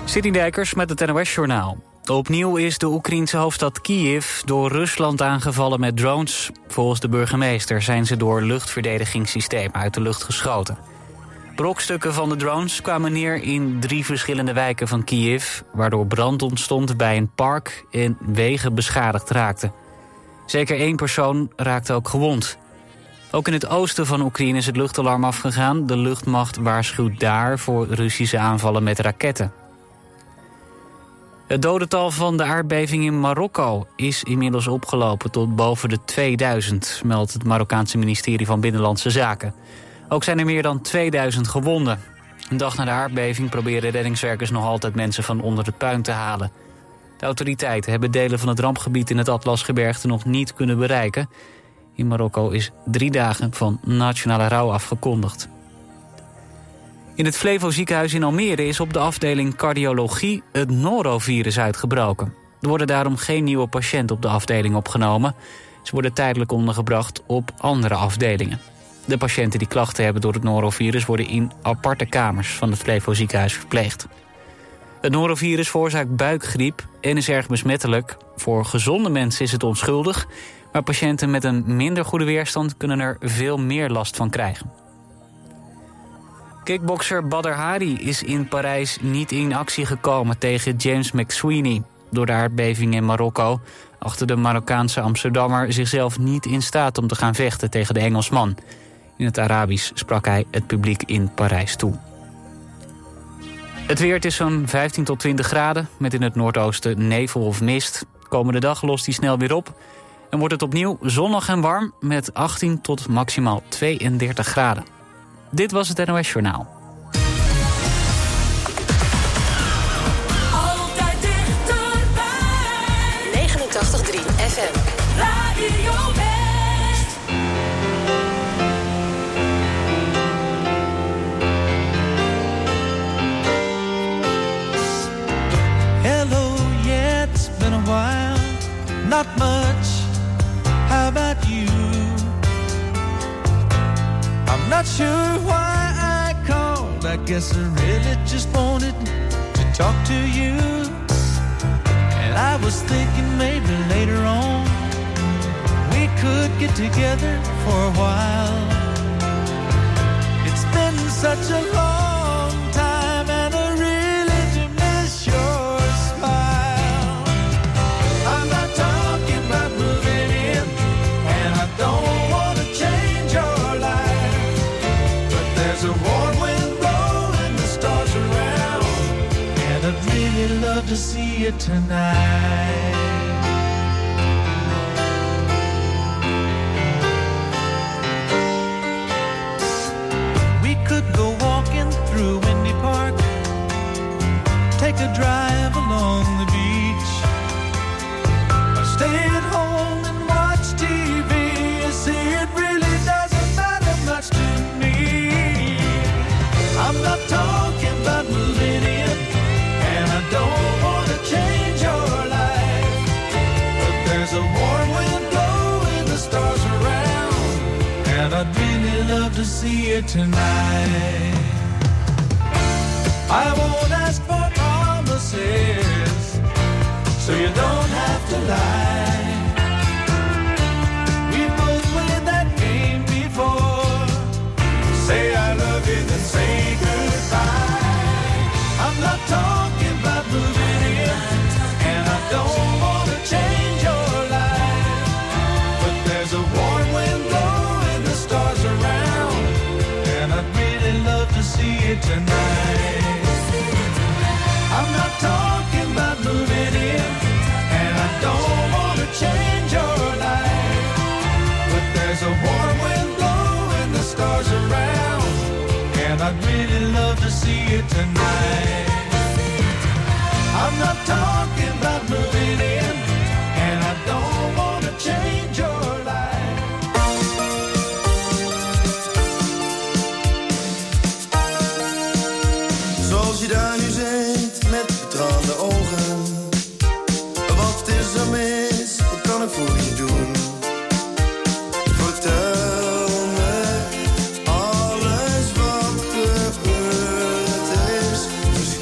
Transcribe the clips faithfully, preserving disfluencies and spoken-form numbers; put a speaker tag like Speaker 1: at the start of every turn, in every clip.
Speaker 1: Sidney Dijkers met het N O S-journaal. Opnieuw is de Oekraïense hoofdstad Kiev door Rusland aangevallen met drones. Volgens de burgemeester zijn ze door luchtverdedigingssystemen uit de lucht geschoten. Brokstukken van de drones kwamen neer in drie verschillende wijken van Kiev, waardoor brand ontstond bij een park en wegen beschadigd raakten. Zeker één persoon raakte ook gewond. Ook in het oosten van Oekraïne is het luchtalarm afgegaan. De luchtmacht waarschuwt daar voor Russische aanvallen met raketten. Het dodental van de aardbeving in Marokko is inmiddels opgelopen tot boven de tweeduizend, meldt het Marokkaanse ministerie van Binnenlandse Zaken. Ook zijn er meer dan tweeduizend gewonden. Een dag na de aardbeving proberen reddingswerkers nog altijd mensen van onder de puin te halen. De autoriteiten hebben delen van het rampgebied in het Atlasgebergte nog niet kunnen bereiken. In Marokko is drie dagen van nationale rouw afgekondigd. In het Flevo ziekenhuis in Almere is op de afdeling cardiologie het norovirus uitgebroken. Er worden daarom geen nieuwe patiënten op de afdeling opgenomen. Ze worden tijdelijk ondergebracht op andere afdelingen. De patiënten die klachten hebben door het norovirus worden in aparte kamers van het Flevo ziekenhuis verpleegd. Het norovirus veroorzaakt buikgriep en is erg besmettelijk. Voor gezonde mensen is het onschuldig, maar patiënten met een minder goede weerstand kunnen er veel meer last van krijgen. Kickbokser Badr Hari is in Parijs niet in actie gekomen tegen James McSweeney. Door de aardbeving in Marokko achtte de Marokkaanse Amsterdammer zichzelf niet in staat om te gaan vechten tegen de Engelsman. In het Arabisch sprak hij het publiek in Parijs toe. Het weer, het is zo'n vijftien tot twintig graden, met in het noordoosten nevel of mist. Komende dag lost die snel weer op en wordt het opnieuw zonnig en warm met achttien tot maximaal tweeëndertig graden. Dit was het N O S-journaal.
Speaker 2: Altijd dichterbij.
Speaker 3: negenentachtig komma drie F M.
Speaker 2: Radio West.
Speaker 4: Hello, yeah, it's been a while. Not much. How about you? I'm not sure why I called. I guess I really just wanted to talk to you. And I was thinking maybe later on we could get together for a while. It's been such a long time and I really do miss your smile. I'm not talking about moving in, and I don't want to change your life. There's a warm wind blowing the stars around, and I'd really love to see you tonight. We could go walking through Windy Park, take a drive along the beach, or stay at home and watch T V. You see, it really doesn't matter much to me. I'm not talking about moving in, and I don't want to change your life. But there's a warm wind blowing the stars around, and I'd really love to see you tonight. I won't ask for promises, so you don't have to lie. We both played that game before. Say I love you, then say goodbye. I'm not talking about moving in, and I don't want to change your life. But there's a warm wind blowing the stars around, and I'd really love to see you tonight. I'm not talking about moving in, and I don't want to change your life. But there's a warm wind blowing the stars around, and I'd really love to see you tonight. I'm not talking about moving in, and I don't want to change your life.
Speaker 5: Zoals je daar nu zit, met betraande ogen. Wat is er mis, wat kan ik voor je doen? Vertel me alles wat gebeurd is.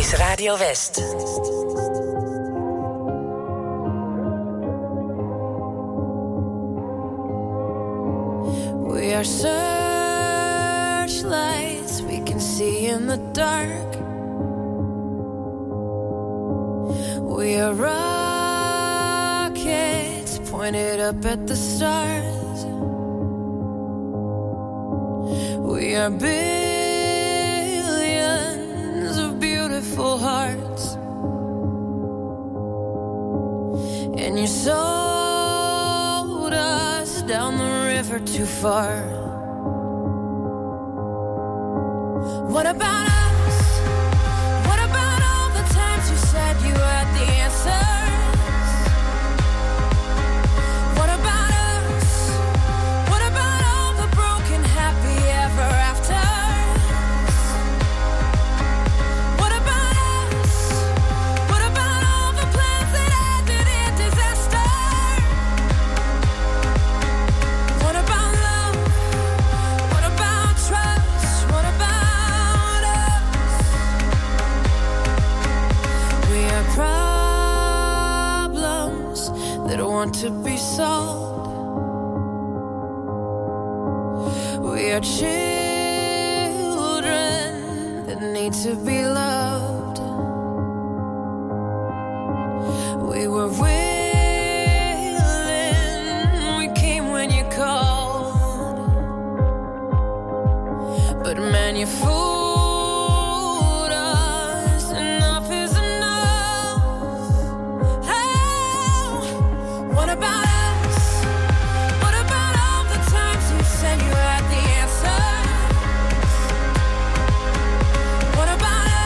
Speaker 3: is Radio West.
Speaker 6: We are searchlights we can see in the dark. We are rockets pointed up at the stars. We are billions of beautiful hearts. And you sold us down the river too far. What about us? What about all the times you said you had the answers? What about us? What about all the broken happy ever afters? What about us? What about all the plans that ended in disaster? What about love? What about trust? What about us? We are problems that want to be solved. We are children that need to be loved. We were willing, we came when you called. But man, you fooled us. Enough is enough. Oh, what about us? What about all the times you said you had the answer? What about us?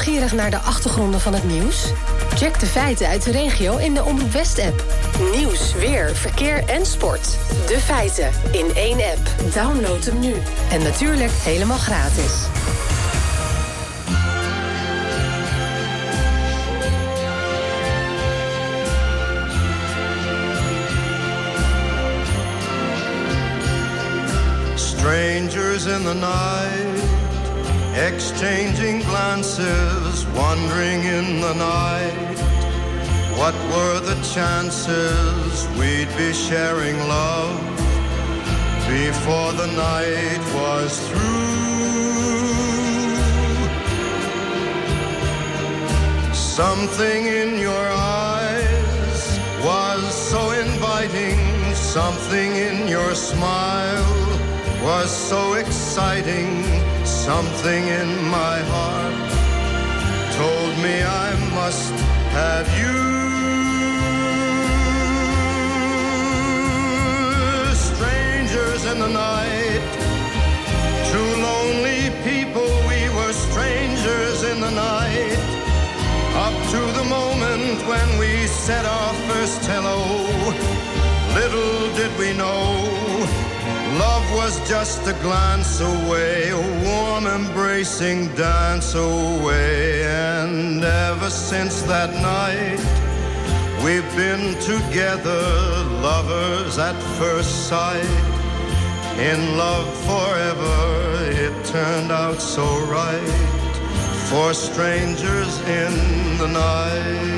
Speaker 3: nieuwsgierig naar de achtergronden van het nieuws? Check de feiten uit de regio in de Omroep West-app. Nieuws, weer, verkeer en sport. De feiten in één app. Download hem nu. En natuurlijk helemaal gratis.
Speaker 5: Strangers in the night, exchanging glances, wandering in the night. What were the chances we'd be sharing love before the night was through? Something in your eyes was so inviting, something in your smile was so exciting, something in my heart told me I must have you. Strangers in the night, two lonely people, we were strangers in the night, up to the moment when we said our first hello. Little did we know love was just a glance away, a warm embracing dance away. And ever since that night, we've been together, lovers at first sight. In love forever, it turned out so right, for strangers in the night.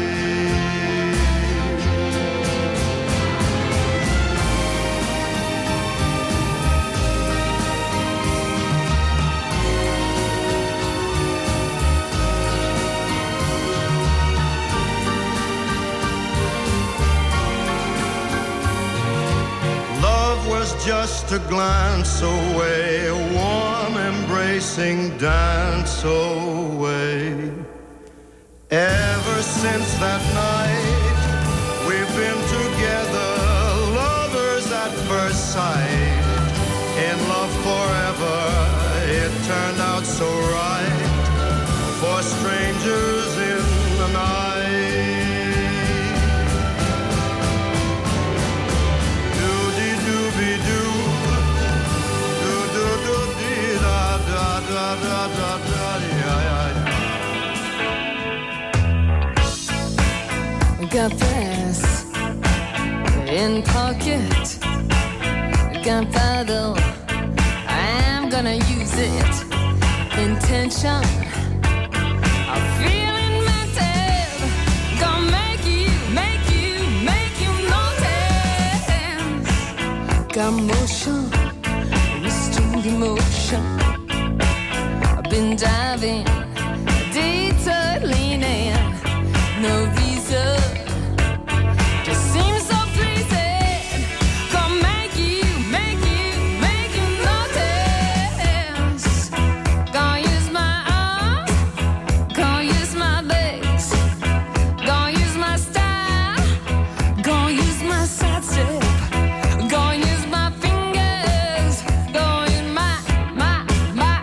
Speaker 5: Just a glance away, a warm embracing dance away. Ever since that night, we've been together, lovers at first sight. In love forever, it turned out so right, for strangers in the night. Da, da, da, da, yeah, yeah.
Speaker 7: Got brass in pocket, gunpowder, I'm gonna use it. Intention, I'm feeling mental, gonna make you, make you, make you notice. Got motion, restrained emotion. Been diving, detour leaning, no reason, just seems so pleasing. Gonna make you, make you, make you notice. Gonna use my arms, gonna use my legs, gonna use my style, gonna use my side step, gonna use my fingers, gonna use my, my, my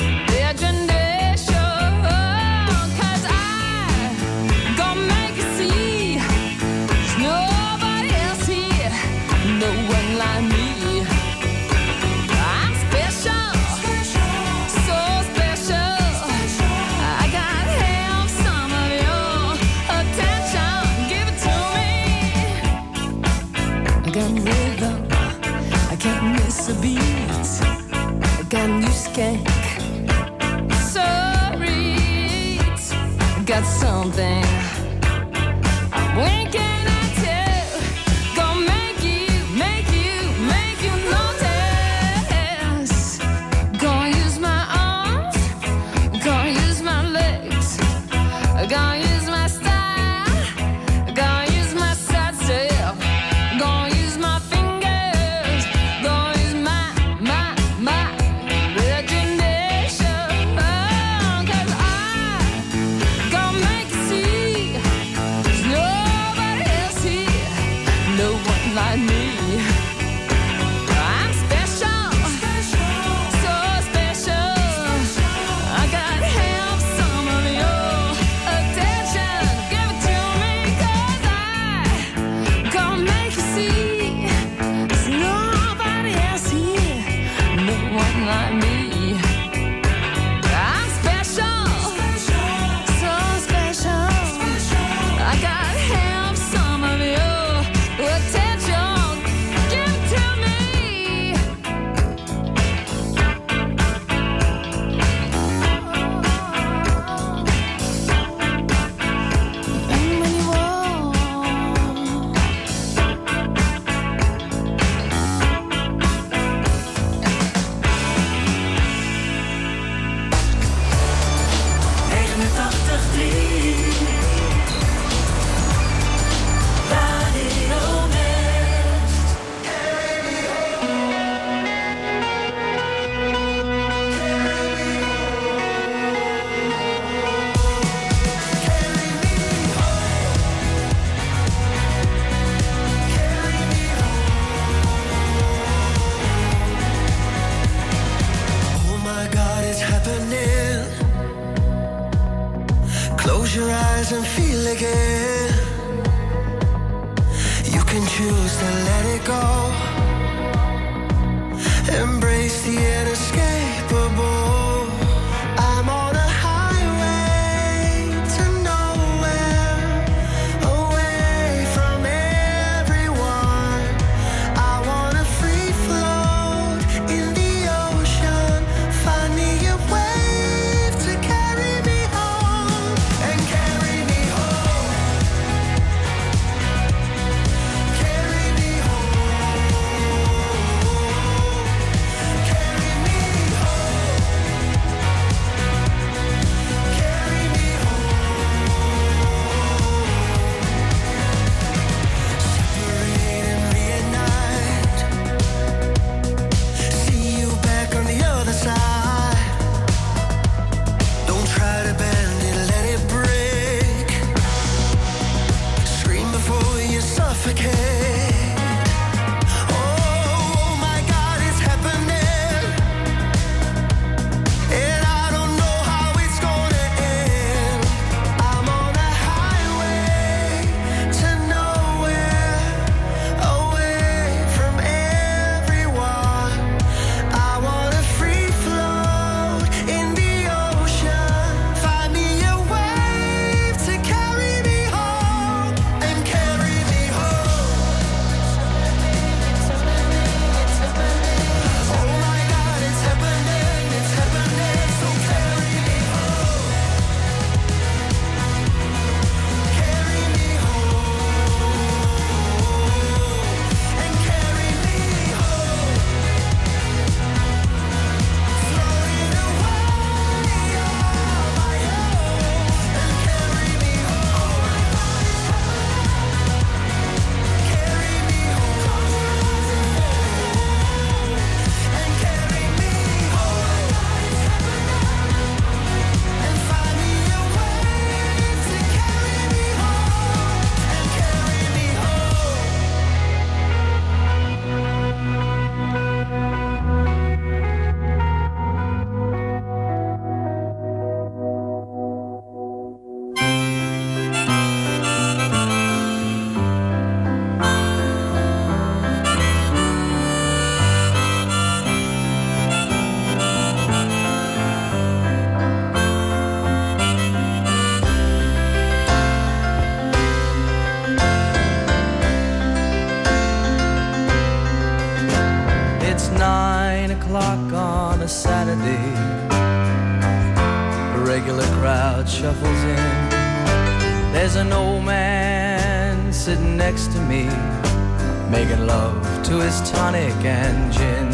Speaker 7: got something I'm winking at you. Gonna make you, make you, make you notice. Gonna use my arms, gonna use my legs, gonna use my style, gonna use my side step, gonna use my fingers, gonna use my, my, my imagination. Oh, 'cause I gonna make you see one like me. I'm special, so special. I gotta have some of your attention. Give it to me. And when you walk,
Speaker 2: negenentachtig komma drie Radio West.
Speaker 8: Oh my God, it's happening. Close your eyes and feel again. You can choose to let it go. Embrace the inescapable. I'm on a highway to nowhere, away from everyone. I wanna free float in the ocean. Find me a wave to carry me home and carry me home. Carry me home. Carry me home. Carry me home. Separate and reunite. See you back on the other side. Don't try to bend it, let it break. Scream before you suffocate. Oh my God, it's happening. And I don't know how it's gonna end. I'm on a highway to nowhere, away from everyone. I wanna free float in the ocean. Find me a wave to carry me home and carry me home. Oh my God, it's happening, it's happening. So carry me home. Carry me home and carry me home. Floating away on my own and carry me home. Carry me home and carry me home and find me a wave to carry me home and carry me
Speaker 9: It's nine o'clock on a Saturday. A regular crowd shuffles in. There's an old man sitting next to me, making love to his tonic and gin.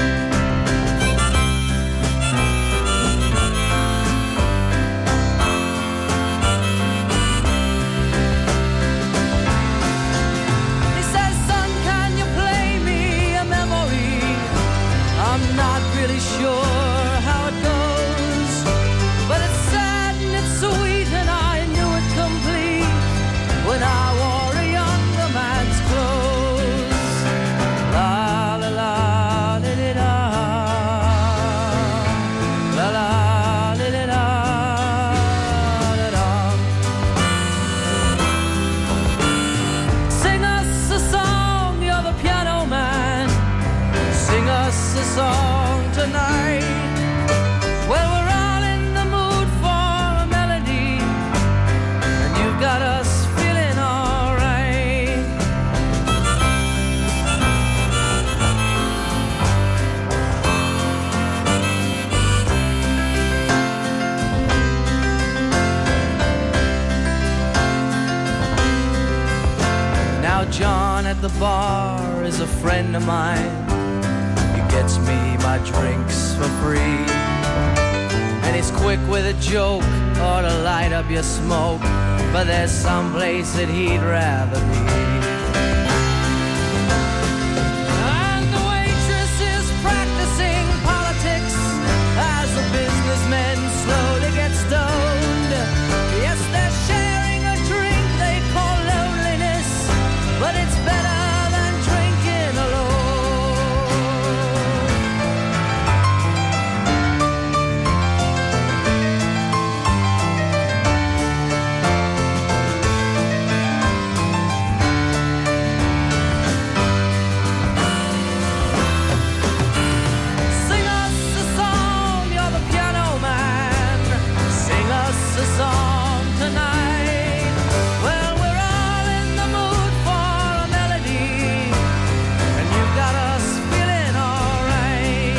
Speaker 9: He says, "Son, can you play me a memory? I'm not really sure how it goes, but it's sad and it's sweet and I knew it complete when I wore a younger man's clothes." La la la li, li, la. La la li, li, la, la, la. Sing us a song, you're the piano man. Sing us a song tonight. the bar is a friend of mine. He gets me my drinks for free. And he's quick with a joke or to light up your smoke. But there's some place that he'd rather be. And the waitress is practicing politics as the businessmen slowly get stoned. Yes, they're sharing a drink they call loneliness, but it's better than drinking alone. Sing us a song, you're the piano man. Sing us a song tonight. Well, we're all in the mood for a melody, and you've got us feeling alright.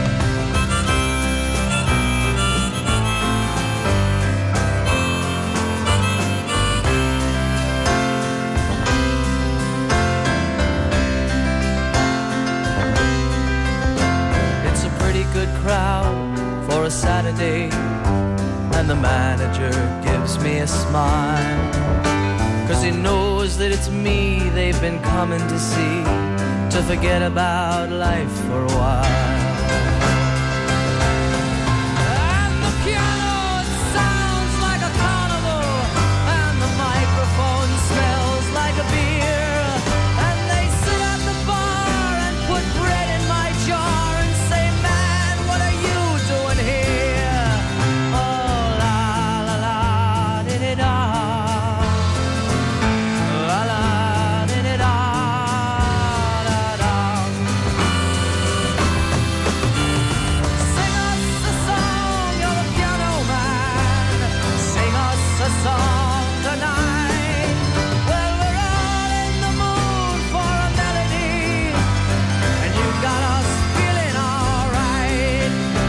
Speaker 9: It's a pretty good crowd for a Saturday, and the manager gives me a smile, 'cause he knows that it's me they've been coming to see, to forget about life for a while. And the piano, it sounds like a carnival, and the microphone smells like a beer. And they sit at the bar and put bread in my jar and say, man, what are you doing here? Oh, la, la, la, di-di-da. La, la, di-di-da, da-da. Sing us a song, you're the piano man. Sing us a song tonight. Well, we're all in the mood for a melody, and you got us feeling alright.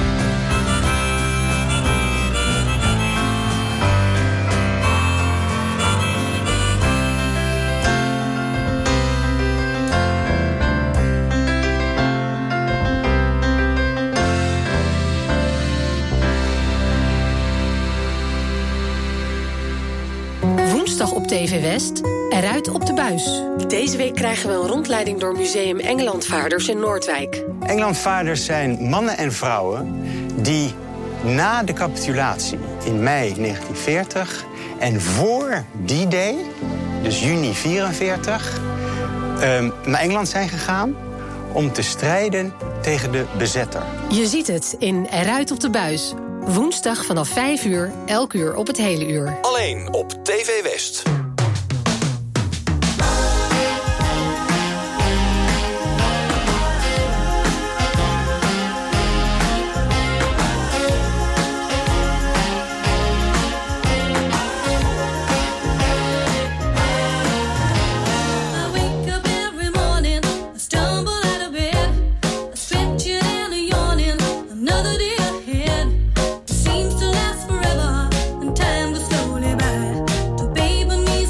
Speaker 3: Woensdag op T V West, eruit op de buis. Deze week krijgen we een rondleiding door Museum Engelandvaarders in Noordwijk.
Speaker 10: Engelandvaarders zijn mannen en vrouwen die na de capitulatie in mei negentien veertig en voor die day, dus juni vierenveertig, um, naar Engeland zijn gegaan om te strijden tegen de bezetter.
Speaker 3: Je ziet het in Eruit op de buis. Woensdag vanaf vijf uur, elk uur op het hele uur.
Speaker 11: Alleen op T V West.
Speaker 6: I wake up every morning, I stumble out of bed, I stretch it and a yawning, another day ahead. It seems to last forever, and time goes slowly by. To babe and me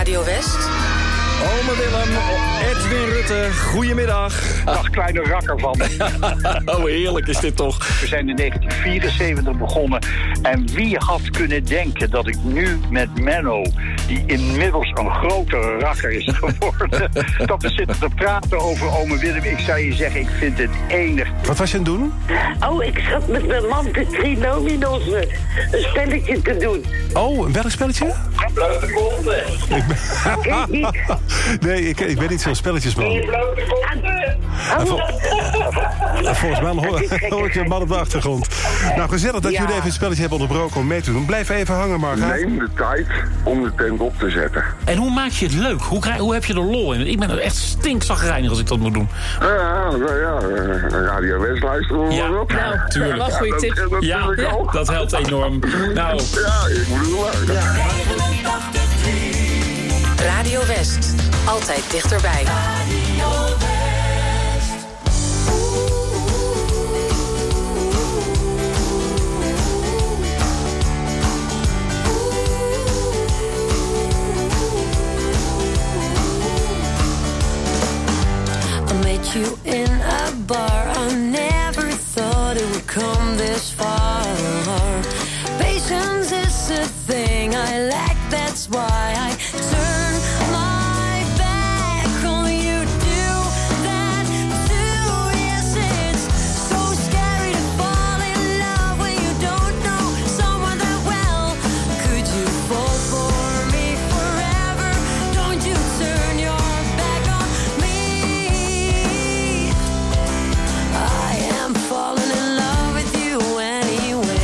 Speaker 3: Radio West.
Speaker 12: Ome Willem, Edwin Rutte, goedemiddag.
Speaker 13: Dag, kleine rakker van me.
Speaker 12: Oh, heerlijk is dit toch.
Speaker 13: We zijn in negentien vierenzeventig begonnen. En wie had kunnen denken dat ik nu met Menno, die inmiddels een grotere rakker is geworden, dat we zitten te praten over ome Willem. Ik zou je zeggen, ik vind het enig.
Speaker 12: Wat was je aan het doen?
Speaker 14: Oh, ik zat met mijn man de trinominos een spelletje te doen.
Speaker 12: Oh, welk spelletje?
Speaker 14: Blote konten.
Speaker 12: Ik ben... Nee, ik, ik ben niet zo'n spelletjesman.
Speaker 14: Blote konten.
Speaker 12: Vol... Volgens mij hoor, hoor ik je man op de achtergrond. Nou, gezellig dat
Speaker 14: Ja.
Speaker 12: jullie even het spelletje hebben onderbroken om mee te doen. Blijf even hangen, Marga.
Speaker 15: Neem de tijd om de tent op te zetten.
Speaker 16: En hoe maak je het leuk? Hoe, krijg, hoe heb je er lol in? Ik ben er echt stinkzagrijnig als ik dat moet doen.
Speaker 15: Ja, ja, ja. Radio West luisteren we
Speaker 16: Ja,
Speaker 15: maar op.
Speaker 16: nou, tuurlijk.
Speaker 15: Ja,
Speaker 16: Goeie
Speaker 15: dat
Speaker 16: tip.
Speaker 15: ken
Speaker 16: Ja,
Speaker 15: natuurlijk ook.
Speaker 16: dat helpt enorm. Nou.
Speaker 15: Ja, ik moet het wel.
Speaker 3: Radio West. Altijd dichterbij.
Speaker 6: I met you in a bar. I never thought it would come this far. Patience is a thing I lack. That's why I turn my back on you. Do that too. Yes, it's so scary to fall in love when you don't know someone that well. Could you fall for me forever? Don't you turn your back on me. I am falling in love with you anyway.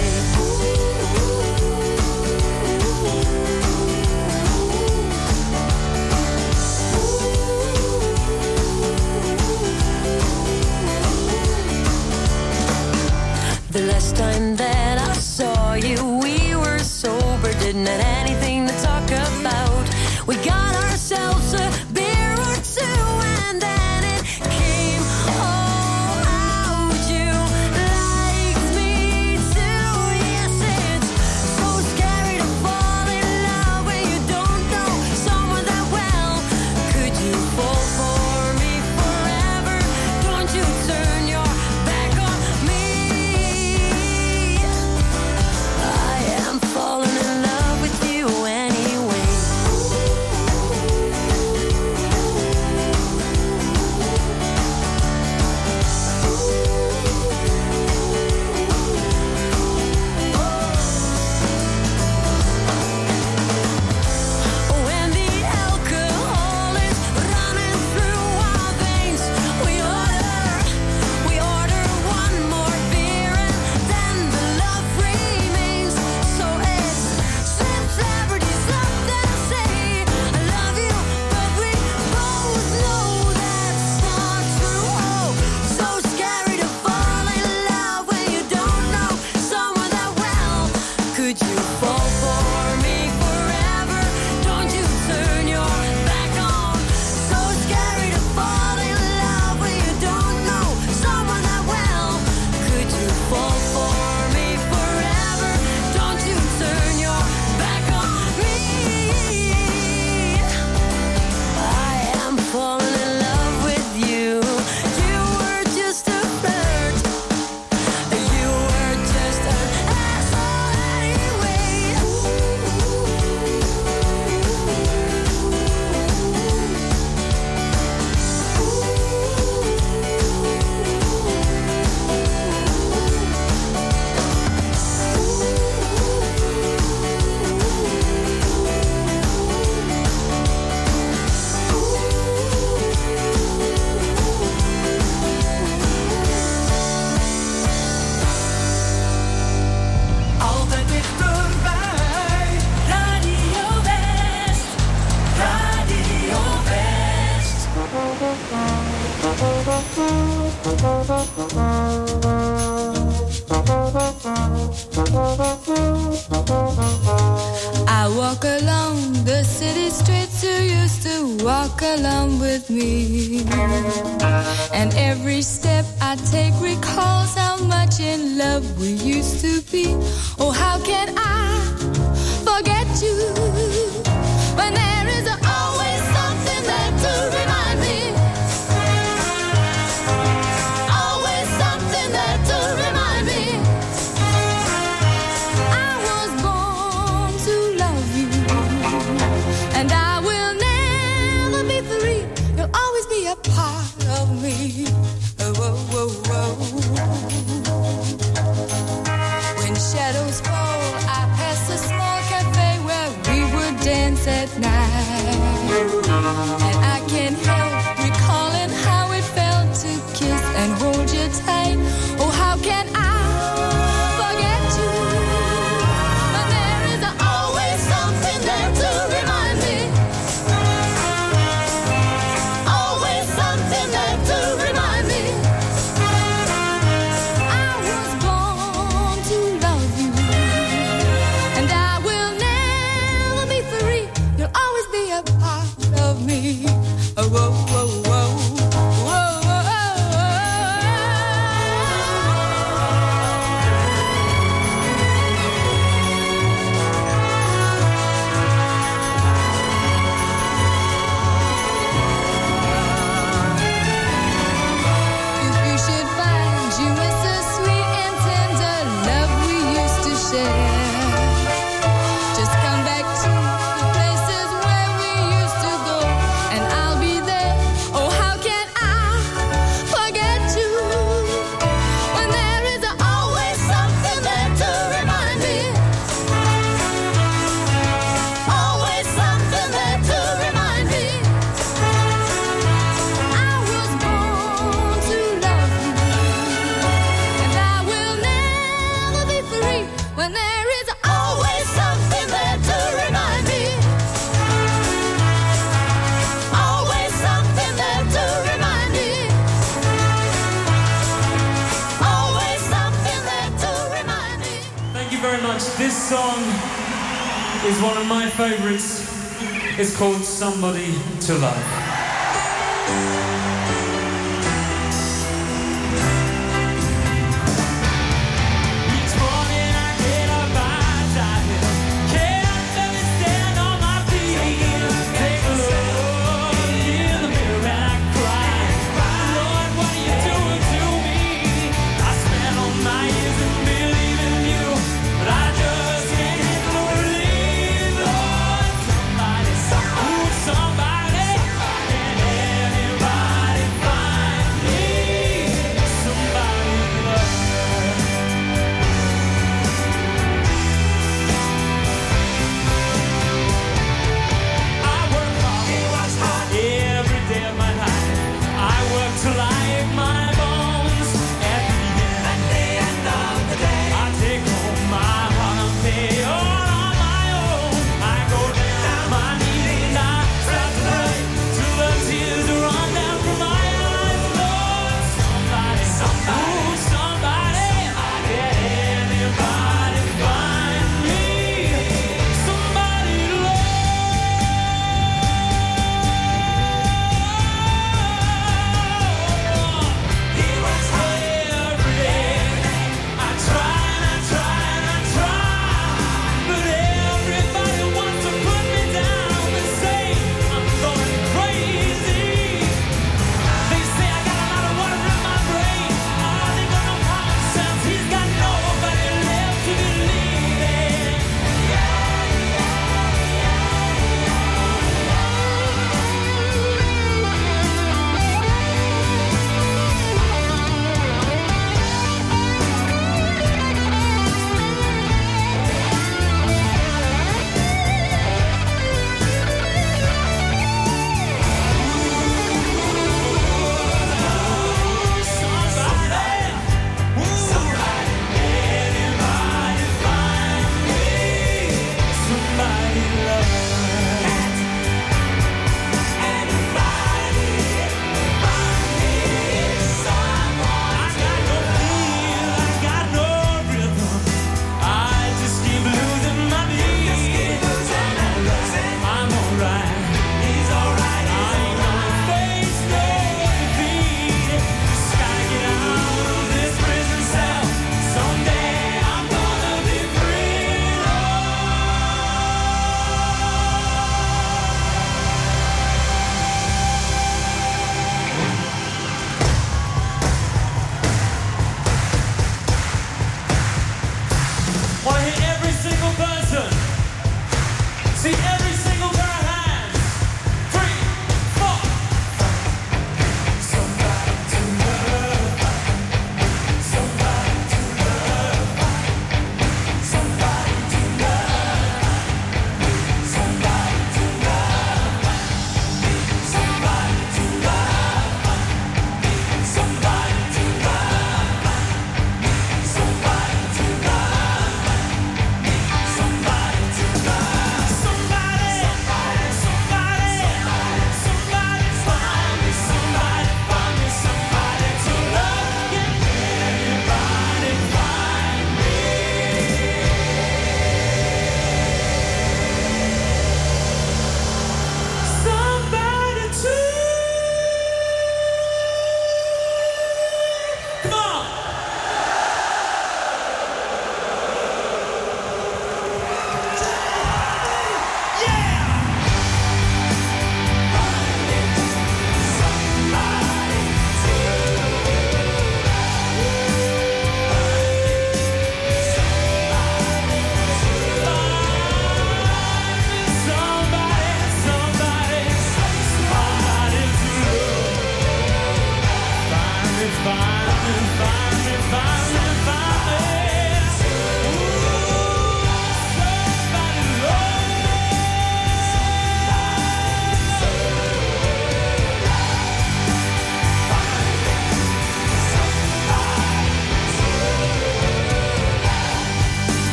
Speaker 6: The last time that I saw you, we were sober, didn't have anything to talk about. We got ourselves a beer or two, and then it came all out. You liked me too. Yes, it's so scary to fall in love when you don't know someone that well. Could you fall for me forever? Don't you turn your back on me. I am falling in love with you anyway. When the alcohol is running through our veins, we order, we order one more beer, and then the love remains. So it's slim celebrities up there say I love you, but we both know that's not true. Oh, so scary to fall in love when you don't know someone that well. Could you fall for me forever? Don't you turn your back on. So scary to fall in love when you don't know someone that well. Could you fall for me forever? Don't you turn your back on me. I am falling in love with you. You were just a flirt. You were just an asshole anyway.
Speaker 2: Altijd dichterbij. Radio West. Radio West.
Speaker 7: I walk along the city streets you used to walk along with me. And every step I take recalls how much in love we used to be. Oh, how can I forget you when there is a shadows fall, I pass a small cafe where we would dance at night. And I can't help recalling how it felt to kiss and hold you tight. Oh, how can I forget you? But there is always something there to remind me. Always something there to remind me. I was born to love you, and I will never be free. You'll always be a part of me. Oh, whoa, whoa, whoa.
Speaker 17: This song is one of my favorites. It's called Somebody to Love.
Speaker 2: Somebody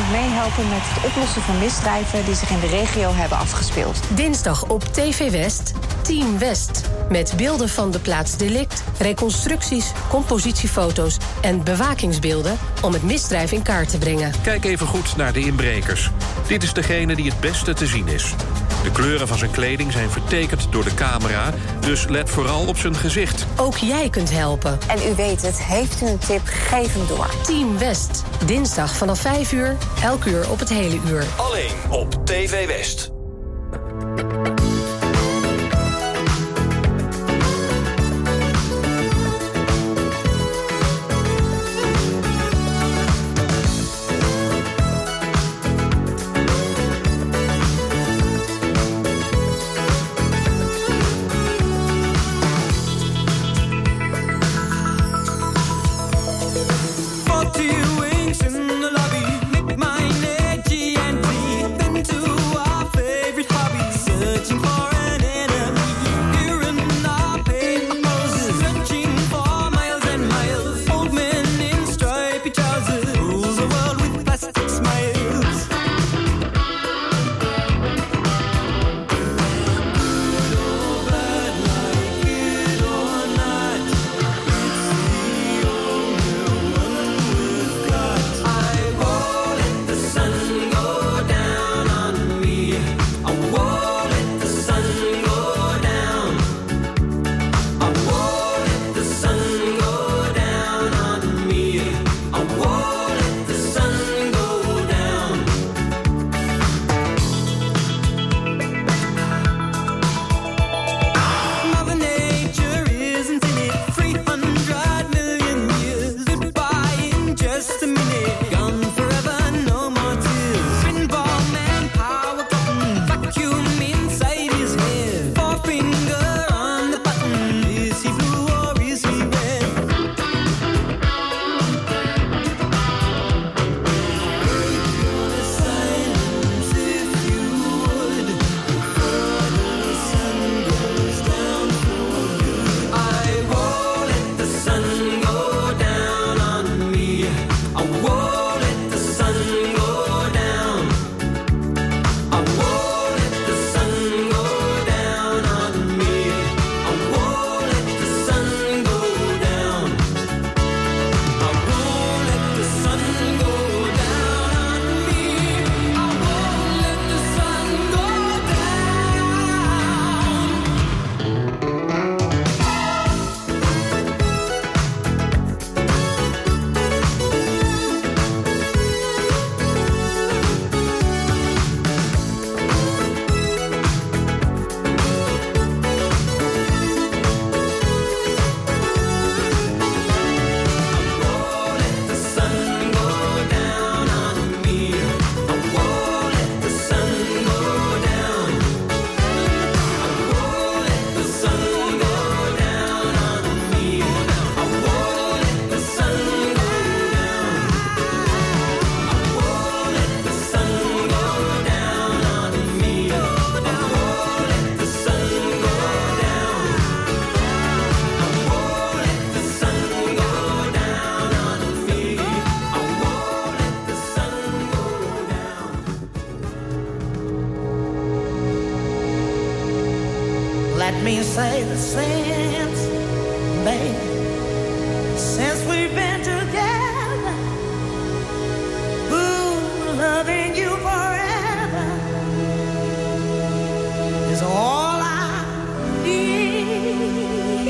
Speaker 18: moet meehelpen met het oplossen van misdrijven die zich in de regio hebben afgespeeld.
Speaker 3: Dinsdag op T V West, Team West. Met beelden van de plaats delict, reconstructies, compositiefoto's en bewakingsbeelden om het misdrijf in kaart te brengen.
Speaker 19: Kijk even goed naar de inbrekers. Dit is degene die het beste te zien is. De kleuren van zijn kleding zijn vertekend door de camera, dus let vooral op zijn gezicht.
Speaker 3: Ook jij kunt helpen.
Speaker 18: En u weet het, heeft u een tip, geef hem door.
Speaker 3: Team West, dinsdag vanaf vijf uur, elk uur op het hele uur.
Speaker 11: Alleen op T V West.
Speaker 2: Let me say the since, baby, since we've been together, ooh, loving you forever is all I need.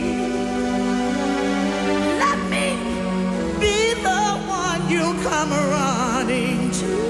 Speaker 2: Let me be the one you come running to.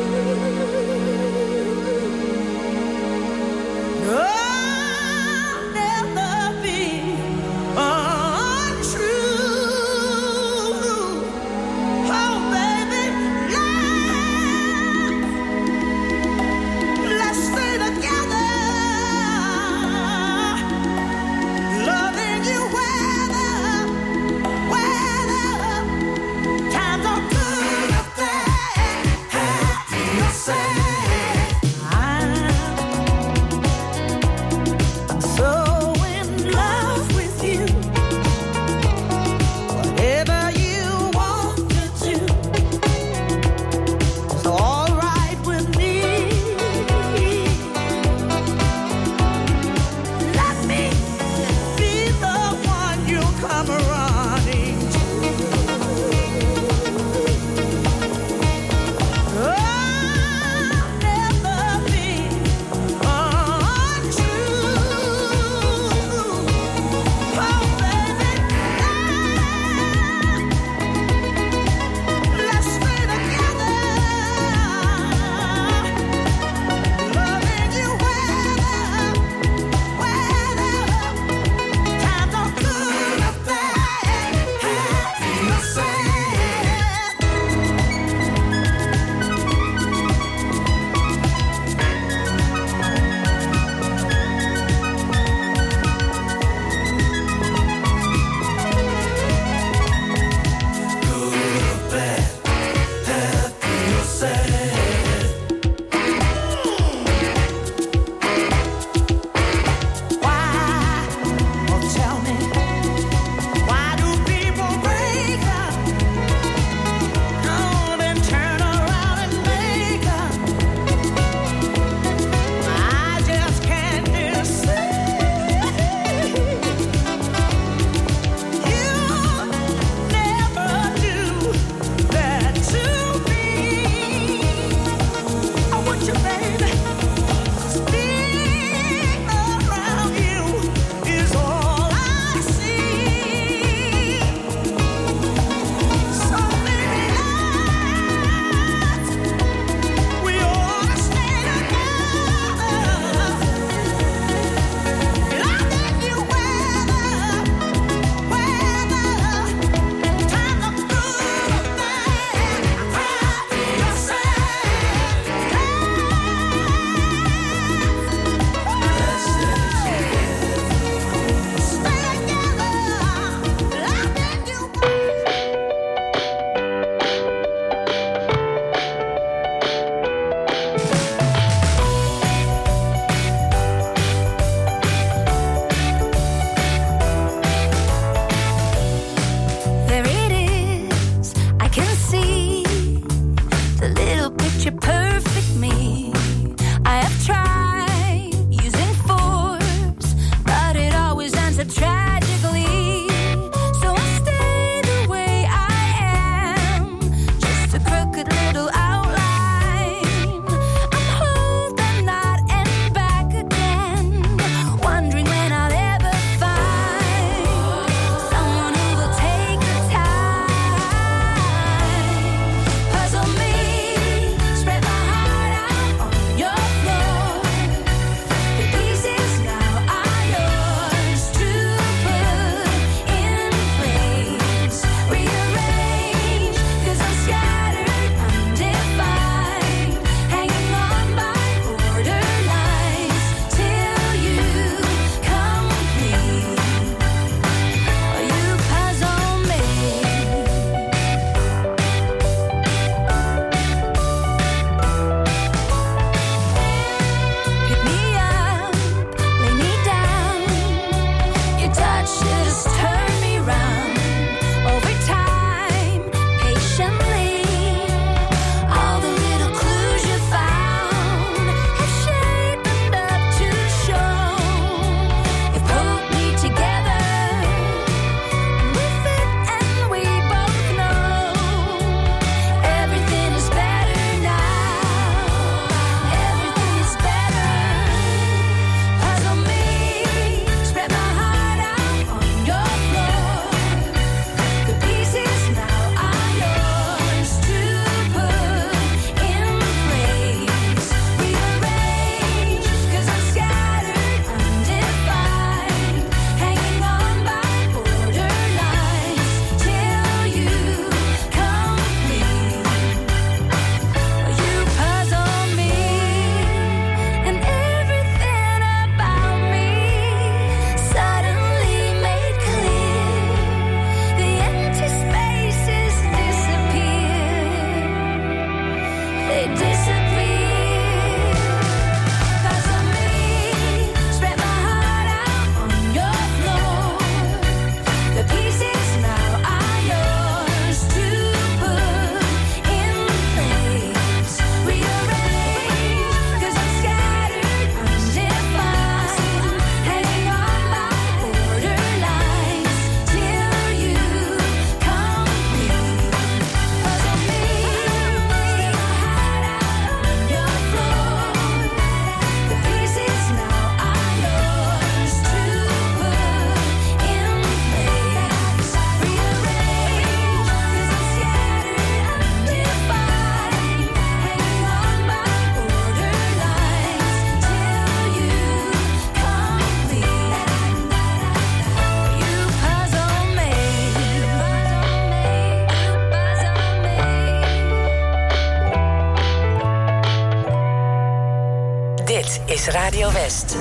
Speaker 3: is Radio West.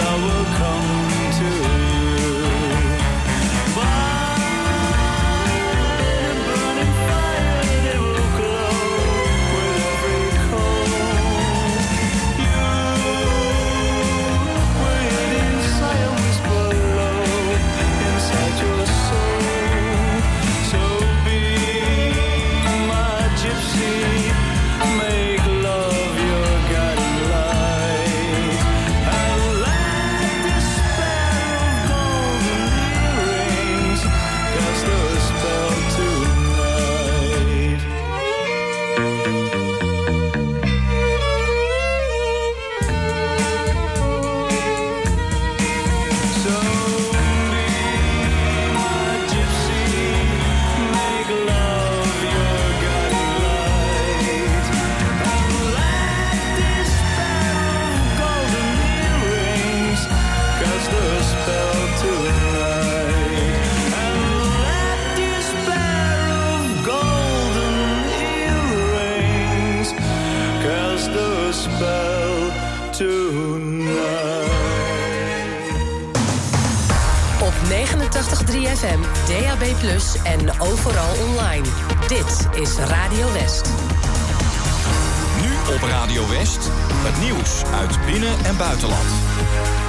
Speaker 8: Come to you. Bye.
Speaker 3: tachtig komma drie F M, D A B plus, en overal online. Dit is Radio West.
Speaker 11: Nu op Radio West, het nieuws uit binnen- en buitenland.